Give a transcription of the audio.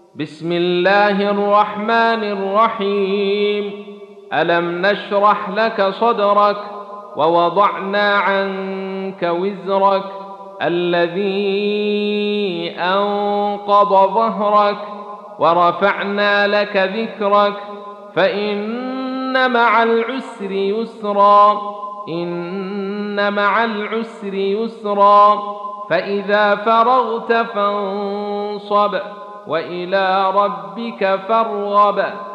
بسم الله الرحمن الرحيم. ألم نشرح لك صدرك ووضعنا عنك وزرك الذي أنقض ظهرك ورفعنا لك ذكرك فإن مع العسر يسرا إن مع العسر يسرا فإذا فرغت فانصب وإلى ربك فارغب.